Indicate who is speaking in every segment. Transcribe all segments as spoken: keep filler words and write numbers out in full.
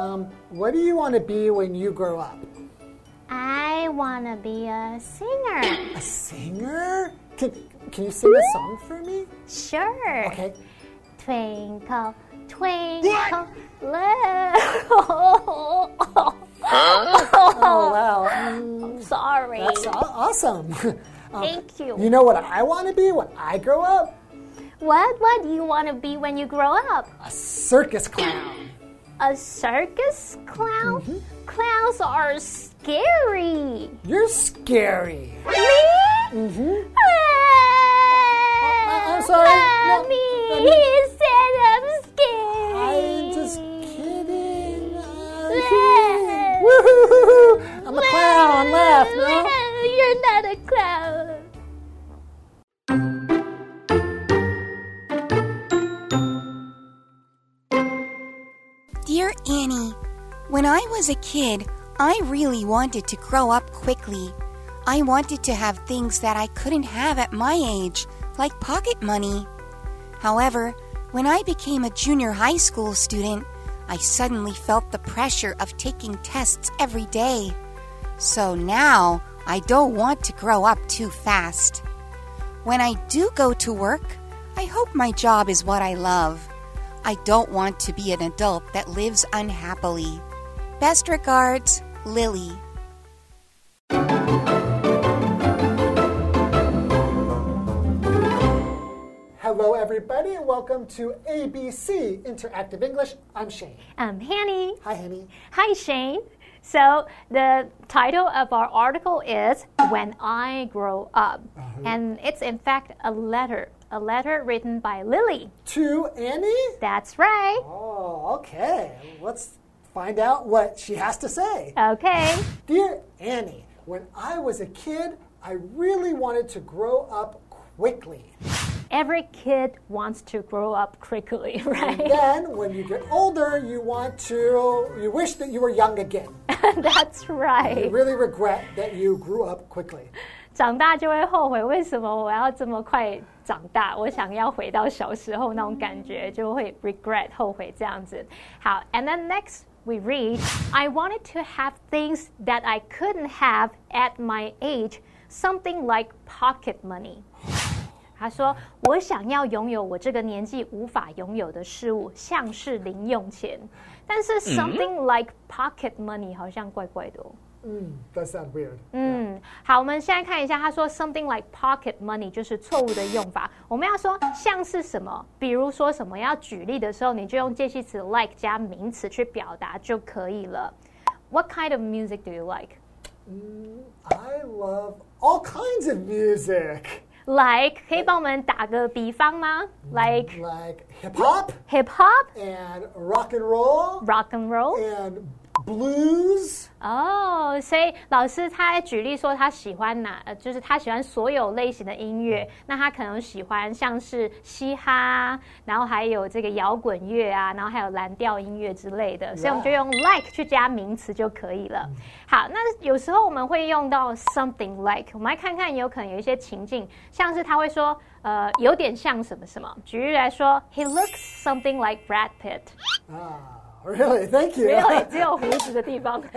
Speaker 1: Um, what do you want to be when you grow up?
Speaker 2: I want to be a singer.
Speaker 1: A singer? Can, can you sing a song for me?
Speaker 2: Sure.
Speaker 1: Okay.
Speaker 2: Twinkle, twinkle, little.
Speaker 1: Oh, wow.
Speaker 2: I'm sorry.
Speaker 1: That's awesome. Um,
Speaker 2: Thank you.
Speaker 1: You know what I want to be when I grow up?
Speaker 2: What, what do you want to be when you grow up?
Speaker 1: A circus clown.
Speaker 2: A circus clown?
Speaker 1: Mm-hmm.
Speaker 2: Clowns are scary.
Speaker 1: You're scary.
Speaker 2: Me?
Speaker 1: Mm-hmm.
Speaker 2: Ah,
Speaker 1: I'm sorry. No,
Speaker 2: Mommy,
Speaker 1: no, no.
Speaker 2: he said I'm scary.
Speaker 1: I'm just kidding. Uh, Woo-hoo-hoo-hoo. I'm a clown. Laugh, no?
Speaker 2: You're not a clown.
Speaker 3: Dear Annie, when I was a kid, I really wanted to grow up quickly. I wanted to have things that I couldn't have at my age, like pocket money. However, when I became a junior high school student, I suddenly felt the pressure of taking tests every day. So now, I don't want to grow up too fast. When I do go to work, I hope my job is what I love. I don't want to be an adult that lives unhappily. Best regards, Lily.
Speaker 1: Hello, everybody, and welcome to A B C Interactive English. I'm Shane.
Speaker 2: I'm Hanny.
Speaker 1: Hi, Hanny.
Speaker 2: Hi, Shane. So the title of our article is When I Grow Up. Uh-huh. And it's in fact a letter. A letter written by Lily.
Speaker 1: To Annie?
Speaker 2: That's right.
Speaker 1: Oh, okay. Let's find out what she has to say.
Speaker 2: Okay.
Speaker 1: Dear Annie, when I was a kid, I really wanted to grow up quickly.
Speaker 2: Every kid wants to grow up quickly, right?
Speaker 1: And then when you get older, you want to, you wish that you were young again.
Speaker 2: That's right.
Speaker 1: You really regret that you grew up quickly.
Speaker 2: 长大就会后悔，为什么我要这么快长大？我想要回到小时候那种感觉，就会 regret 后悔这样子。好 ，and then next we read, I wanted to have things that I couldn't have at my age, something like pocket money. 他说：“我想要拥有我这个年纪无法拥有的事物，像是零用钱。但是 something like pocket money 好像怪怪的哦。”
Speaker 1: 嗯 that sounds weird.
Speaker 2: 嗯，好，我们现在看一下，他说 something like pocket money 就是錯誤的用法。我們要說像是什麼，比如說什麼，要舉例的時候，你就用介系詞 like 加名詞去表達就可以了。What kind of music do you like?
Speaker 1: Mm, I love all kinds of music.
Speaker 2: Like 可以幫我們打個比方嗎 ？Like
Speaker 1: like hip hop,
Speaker 2: hip hop,
Speaker 1: and rock and roll,
Speaker 2: rock and roll,
Speaker 1: and blues.
Speaker 2: 哦，所以老師他在舉例說他喜歡哪，呃，就是他喜歡所有類型的音樂。那他可能喜歡像是嘻哈，然後還有這個搖滾樂啊，然後還有藍調音樂之類的。所以我們就用 like 去加名詞就可以了。好，那有時候我們會用到 something like， 我們來看看有可能有一些情境，像是他會說，呃，有點像什麼什麼。舉例來說 ，He looks something like Brad Pitt。
Speaker 1: 啊。Really? Thank you.
Speaker 2: Really? 只有鬍子的地方。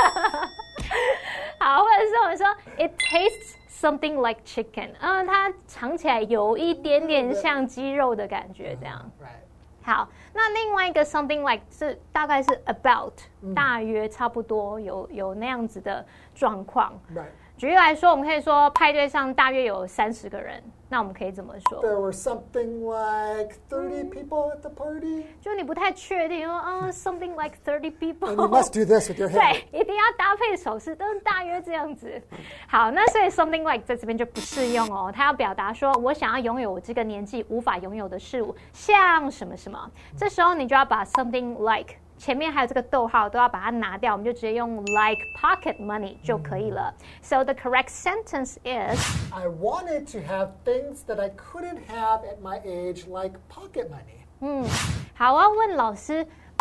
Speaker 2: 好，或者是我們說 It tastes something like chicken。嗯，它嘗起來有一點點像雞肉的感覺，這樣。
Speaker 1: Right.
Speaker 2: 好，那另外一個 something like 是大概是 about，、嗯、大約差不多有有那樣子的狀況。
Speaker 1: Right.
Speaker 2: 舉例來說，我們可以說派對上大約有三十個人，那我們可以怎麼說
Speaker 1: There were something like thirty people at the party.
Speaker 2: 就你不太確定說，啊、oh, ，something like thirty people.
Speaker 1: And you must do this with your hand.
Speaker 2: 對，一定要搭配手勢，都大約這樣子。好，那所以 something like 在這邊就不適用哦，它要表達說我想要擁有我這個年紀無法擁有的事物，像什麼什麼。這時候你就要把 something like。前面還有這個逗號都要把它拿掉，我們就直接用 like pocket money 就可以了。So the correct sentence is
Speaker 1: I wanted to have things that I couldn't have at my age, like pocket money.
Speaker 2: 嗯，好，我要問老師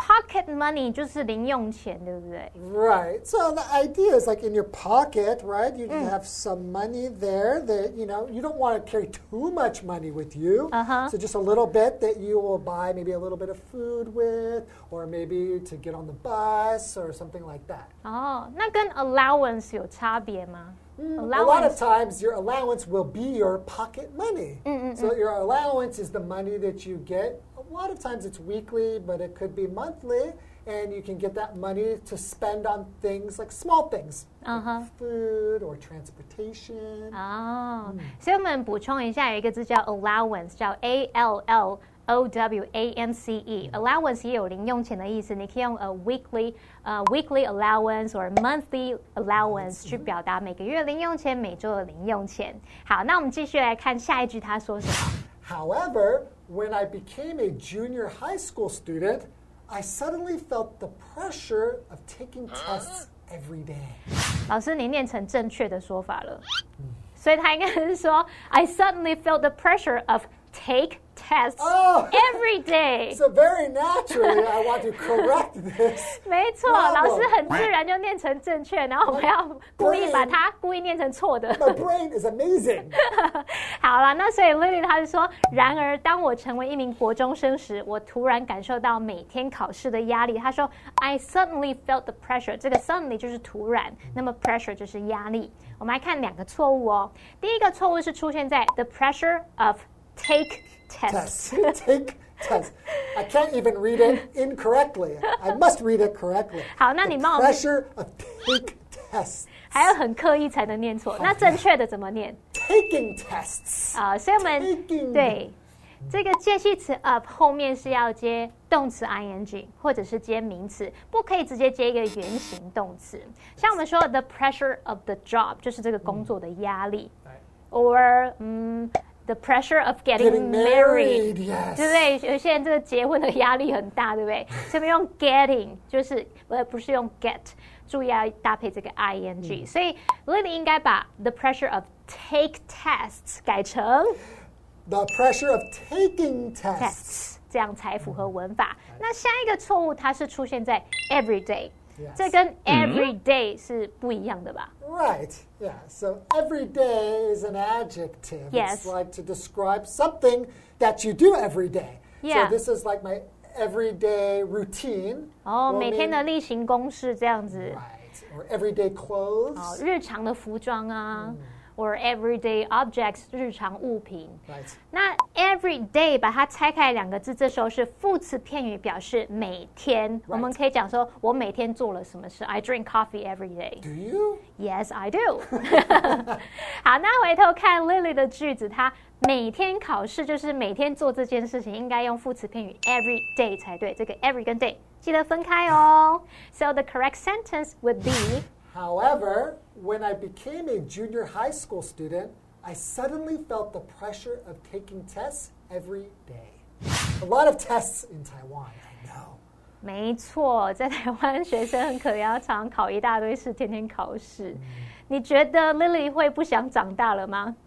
Speaker 2: pocket money 就是零用錢，對不對？
Speaker 1: Right. So the idea is like in your pocket, right? You can have some money there that, you know, you don't want to carry too much money with you.
Speaker 2: Uh-huh.
Speaker 1: So just a little bit that you will buy maybe a little bit of food with, or maybe to get on the bus or something like that.
Speaker 2: 哦，那跟 allowance 有差別嗎？
Speaker 1: Mm, a lot of times your allowance will be your pocket money.
Speaker 2: Mm-mm-mm.
Speaker 1: So your allowance is the money that you get. A lot of times it's weekly, but it could be monthly. And you can get that money to spend on things like small things,
Speaker 2: uh-huh.
Speaker 1: like food or transportation.
Speaker 2: 哦，所以我們補充一下，有一個字叫 allowance， 叫 A L L O W A N C E。allowance 也有零用錢的意思，你可以用 a weekly 呃、uh, weekly allowance or monthly allowance 去表達每個月零用錢、每週的零用錢。好，那我們繼續來看下一句，他說什麼
Speaker 1: ？However, when I became a junior high school student, I suddenly felt the pressure of taking tests every day.
Speaker 2: 老師，你念成正確的說法了，所以他應該是說 I suddenly felt the pressure of take tests
Speaker 1: oh,
Speaker 2: every day.
Speaker 1: So very naturally, I want to correct this.
Speaker 2: 沒錯，老師很自然就念成正確，然後我們要故意把它故意念成錯的。
Speaker 1: My brain is amazing.
Speaker 2: 好了，那所以 Lily 她是說，然而當我成為一名國中生時，我突然感受到每天考試的壓力。她說 I suddenly felt the pressure. 這個 suddenly 就是突然，那麼 pressure 就是壓力。我們來看兩個錯誤哦。第一個錯誤是出現在 the pressure of take tests.
Speaker 1: Take tests. I can't even read it incorrectly. I must read it correctly.
Speaker 2: 好，那你帮我
Speaker 1: pressure of take tests.
Speaker 2: 还要很刻意才能念錯。那正確的怎麼念
Speaker 1: ？Taking tests.
Speaker 2: 啊、呃，所以我們
Speaker 1: Taking.
Speaker 2: 對這個介系詞 of 後面是要接動詞 ing 或者是接名詞，不可以直接接一個原形動詞。像我們說 the pressure of the job 就是這個工作的壓力、嗯、，or 嗯。The pressure of getting,
Speaker 1: getting
Speaker 2: married,
Speaker 1: married yes.
Speaker 2: 对不对？有些人這個結婚的壓力很大，對不对？這邊用 getting 就是呃不是用 get， 注意要搭配這個 ing、嗯、所以 Lily 應該把 the pressure of take tests 改成
Speaker 1: the pressure of taking tests,
Speaker 2: tests 這樣才符合文法。嗯、那下一個錯誤它是出現在 every day。Yes. 這跟 every day 是不一樣的吧？
Speaker 1: Right, yeah. So every day is an adjective.
Speaker 2: Yes.
Speaker 1: It's like to describe something that you do every day.
Speaker 2: Yeah.
Speaker 1: So this is like my everyday routine.
Speaker 2: 哦，每天的例行公事這樣子。
Speaker 1: Right, or everyday clothes.
Speaker 2: 哦，日常的服裝啊。嗯or everyday objects 日常物品。
Speaker 1: Right.
Speaker 2: 那 every day 把它拆開兩個字，這時候是副詞片語，表示每天。Right. 我們可以講說，我每天做了什麼事。I drink coffee every day.
Speaker 1: Do you?
Speaker 2: Yes, I do. 好，那回頭看 Lily 的句子，她每天考試就是每天做這件事情，應該用副詞片語 every day 才對。這個 every 跟 day 記得分開哦。So the correct sentence would be
Speaker 1: However, when I became a junior high school student, I suddenly felt the pressure of taking tests every day. A lot of tests in Taiwan, I know.
Speaker 2: 沒錯，在台灣學生很可憐，要常考一大堆試，天天考試。嗯、你覺得 Lily 會不想長大了嗎？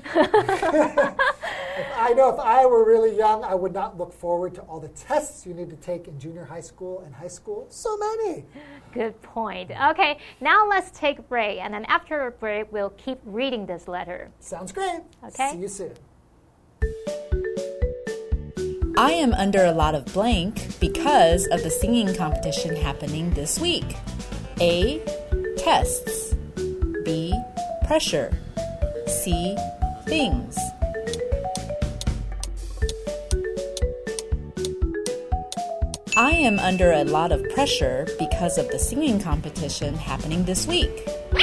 Speaker 1: I know if I were really young, I would not look forward to all the tests you need to take in junior high school and high school. So many.
Speaker 2: Good point. Okay, now let's take a break. And then after a break, we'll keep reading this letter.
Speaker 1: Sounds great.
Speaker 2: Okay.
Speaker 1: See you soon.
Speaker 4: I am under a lot of blank because of the singing competition happening this week. A. Tests. B. Pressure. C. Things. I am under a lot of pressure because of the singing competition happening this week.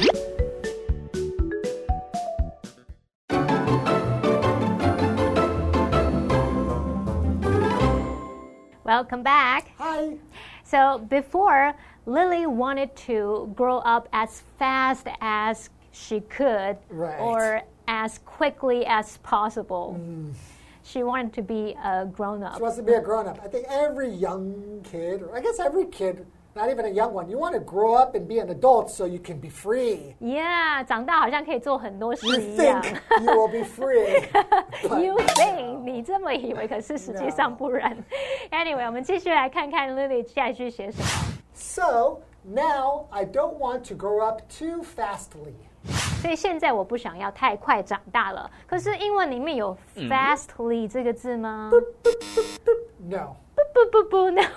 Speaker 2: Welcome back.
Speaker 1: Hi.
Speaker 2: So before, Lily wanted to grow up as fast as she could,
Speaker 1: right.
Speaker 2: or as quickly as possible. Mm. She wanted to be a grown-up.
Speaker 1: She wants to be a grown-up. I think every young kid, or I guess every kid Not even a young one. You want to grow up and be an adult so you can be free.
Speaker 2: Yeah, 長大好像可以做很多事
Speaker 1: You
Speaker 2: 一樣。
Speaker 1: think you will be free.
Speaker 2: You think 你這麼以為，可是實際上不然。Anyway， 我們繼續來看看 Lily 下一句寫什麼。
Speaker 1: So now I don't want to grow up too fastly.
Speaker 2: 所以現在我不想要太快長大了。可是英文裡面有 fastly 這個字嗎
Speaker 1: No.
Speaker 2: 不不不不 no。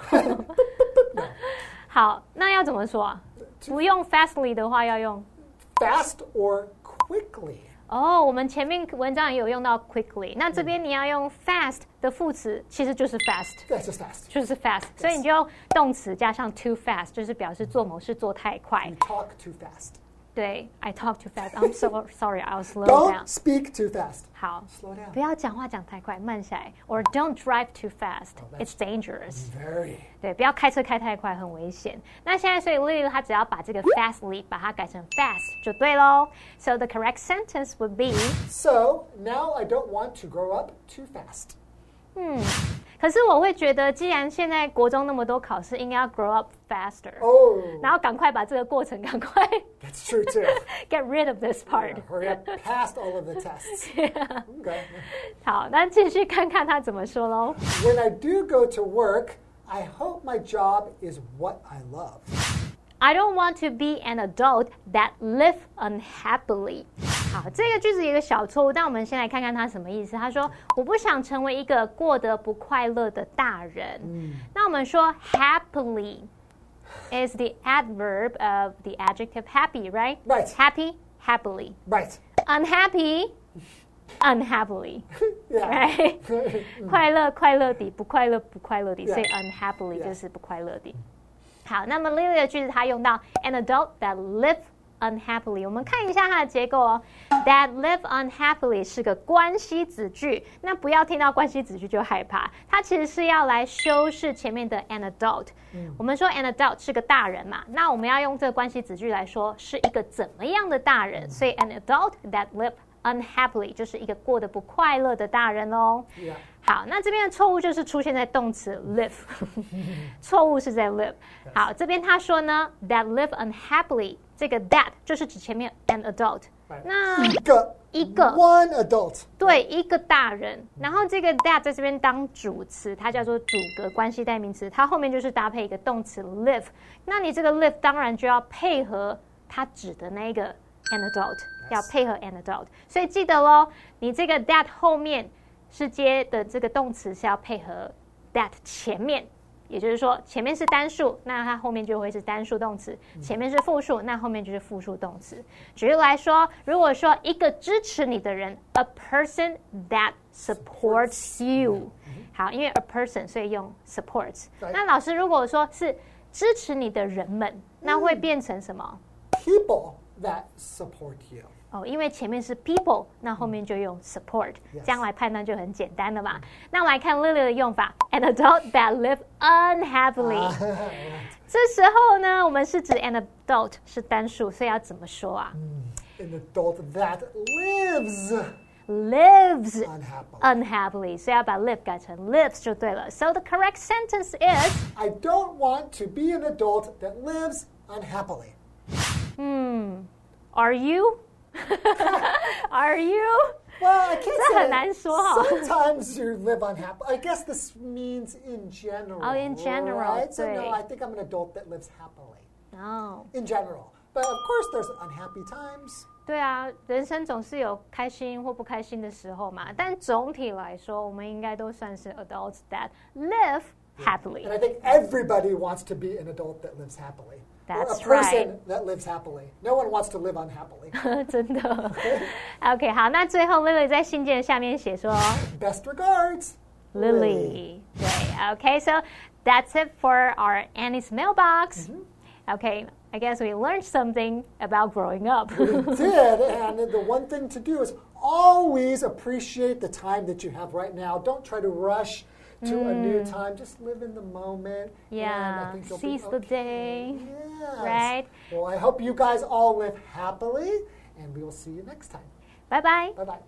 Speaker 2: 好，那要怎麼說啊？不用 fastly 的話，要用
Speaker 1: Fast or quickly.
Speaker 2: 哦，我们前面文章也有用到 quickly， 那這邊你要用 fast 的副詞，其實就是 fast，
Speaker 1: That's just fast.
Speaker 2: 就是 fast， 所以你就用動詞加上 too fast， 就是表示做某事做太快。
Speaker 1: You talk too fast.
Speaker 2: 对 ，I talk too fast. I'm so sorry. I'll slow
Speaker 1: Don't
Speaker 2: down.
Speaker 1: speak too fast.
Speaker 2: 好
Speaker 1: Slow down.
Speaker 2: 不要講話講太快，慢下來。Or don't drive too fast.
Speaker 1: that's-
Speaker 2: It's dangerous.
Speaker 1: Very.
Speaker 2: 对，不要開車開太快，很危險。那現在，所以 Lily 她只要把這個 fastly 把它改成 fast 就對嘍。So the correct sentence would be.
Speaker 1: So now I don't want to grow up too fast.
Speaker 2: 嗯，可是我會覺得，既然現在國中那麼多考試，應該要 grow up faster，、
Speaker 1: Oh,
Speaker 2: 然後趕快把這個過程趕快
Speaker 1: that's true too.
Speaker 2: get rid of this part。
Speaker 1: Yeah, hurry up past all of the tests.
Speaker 2: Yeah.
Speaker 1: Okay.
Speaker 2: 好，那繼續看看他怎麼說嘍。
Speaker 1: When I do go to work, I hope my job is what I love.
Speaker 2: I don't want to be an adult that live unhappily。好，這個句子有一個小錯誤，但我們先來看看它什麼意思。他說：“我不想成為一個過得不快樂的大人。嗯”那我們說 happily is the adverb of the adjective happy, right?
Speaker 1: Right.
Speaker 2: Happy, happily.
Speaker 1: Right.
Speaker 2: Unhappy, unhappily.
Speaker 1: Yeah.
Speaker 2: Right? 快樂快樂地，不快樂不快樂地，
Speaker 1: Yeah.
Speaker 2: 所以 unhappily
Speaker 1: Yeah.
Speaker 2: 就是不快樂地。好，那麼 Lily 的句子它用到 an adult that live unhappily， 我們看一下它的結構哦。That live unhappily 是個關係子句，那不要聽到關係子句就害怕，它其實是要來修飾前面的 an adult。嗯、我們說 an adult 是個大人嘛，那我們要用這個關係子句來說是一個怎麼樣的大人，所以 an adult that live unhappily 就是一個過得不快樂的大人哦。
Speaker 1: Yeah.
Speaker 2: 好，那這邊的錯誤就是出現在動詞 live， 錯誤是在 live。好，這邊他說呢 that live unhappily， 這個 that 就是指前面 an adult。那
Speaker 1: 一個
Speaker 2: 一個
Speaker 1: one adult，
Speaker 2: 對，一個大人，然後這個 that 在這邊當主詞，它叫做主格關係代名詞，它後面就是搭配一個動詞 live。那你這個 live 當然就要配合它指的那個 an adult， 要配合 an adult。所以記得咯，你這個 that 後面是接的這個動詞是要配合 that 前面，也就是說前面是單數，那它後面就會是單數動詞；前面是複數，那後面就是複數動詞。舉例來說，如果說一個支持你的人 ，a person that supports you， 好，因為 a person 所以用 supports。那老師如果說是支持你的人們，那會變成什麼
Speaker 1: people that support you。
Speaker 2: 哦，因為前面是 people， 那後面就用 support，、嗯、這樣來判斷就很簡單了嘛。那我們來看 Lily 的用法 ，an adult that live unhappily、啊。這時候呢，我們是指 an adult 是單數，所以要怎麼說啊、
Speaker 1: 嗯、？an adult that lives
Speaker 2: lives
Speaker 1: unhappily，,
Speaker 2: unhappily 所以要把 live 改成 lives 就對了。So the correct sentence is
Speaker 1: I don't want to be an adult that lives unhappily.
Speaker 2: 嗯 ，Are you? Are you?
Speaker 1: Well, I can't
Speaker 2: 這
Speaker 1: say
Speaker 2: 很難說哈。
Speaker 1: Sometimes you live unhappily. I guess this means in general.
Speaker 2: Oh, in general,
Speaker 1: right? So
Speaker 2: 對
Speaker 1: no, I think I'm an adult that lives happily.
Speaker 2: Oh.
Speaker 1: In general. But of course there's unhappy times.
Speaker 2: 对啊，人生總是有開心或不開心的時候嘛。但總體來說，我們應該都算是 adults that live happily.
Speaker 1: And I think everybody wants to be an adult that lives happily.
Speaker 2: That's
Speaker 1: or a person
Speaker 2: right.
Speaker 1: that lives happily. No one wants to live unhappily.
Speaker 2: 真的。OK， 好，那最後 Lily 在信件下面寫說
Speaker 1: Best regards,
Speaker 2: Lily. 對 ，OK, so that's it for our Annie's mailbox. Mm-hmm. OK, I guess we learned something about growing up.
Speaker 1: We did, and the one thing to do is always appreciate the time that you have right now. Don't try to rush to mm. a new time. Just live in the moment.
Speaker 2: Yeah, seize
Speaker 1: okay.
Speaker 2: the day.
Speaker 1: Yes.
Speaker 2: Right?
Speaker 1: Well, I hope you guys all live happily, and we will see you next time.
Speaker 2: Bye-bye.
Speaker 1: Bye-bye.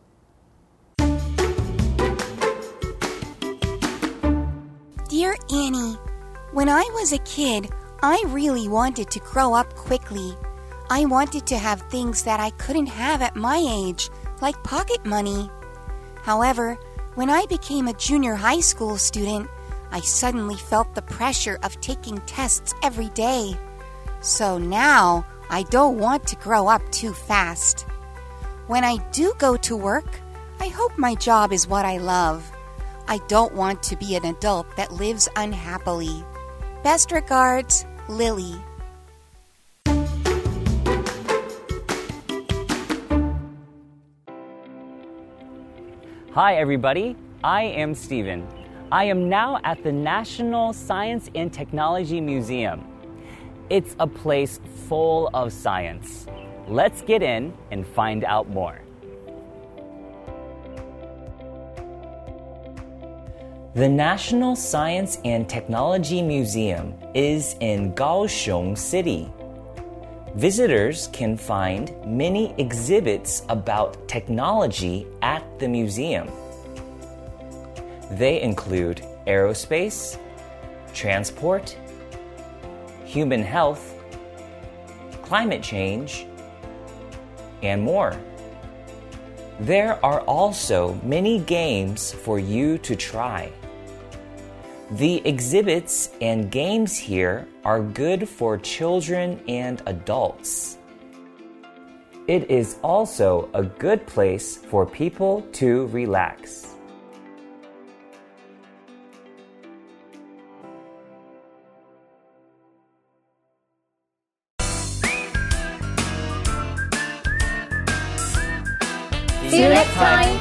Speaker 3: Dear Annie, when I was a kid, I really wanted to grow up quickly. I wanted to have things that I couldn't have at my age, like pocket money. However, when I became a junior high school student, I suddenly felt the pressure of taking tests every day. So now, I don't want to grow up too fast. When I do go to work, I hope my job is what I love. I don't want to be an adult that lives unhappily. Best regards, Lily.
Speaker 5: Hi everybody, I am Steven. I am now at the National Science and Technology Museum. It's a place full of science. Let's get in and find out more. The National Science and Technology Museum is in Kaohsiung City. Visitors can find many exhibits about technology at the museum. They include aerospace, transport, human health, climate change, and more. There are also many games for you to try. The exhibits and games here are good for children and adults. It is also a good place for people to relax.
Speaker 2: See you next time!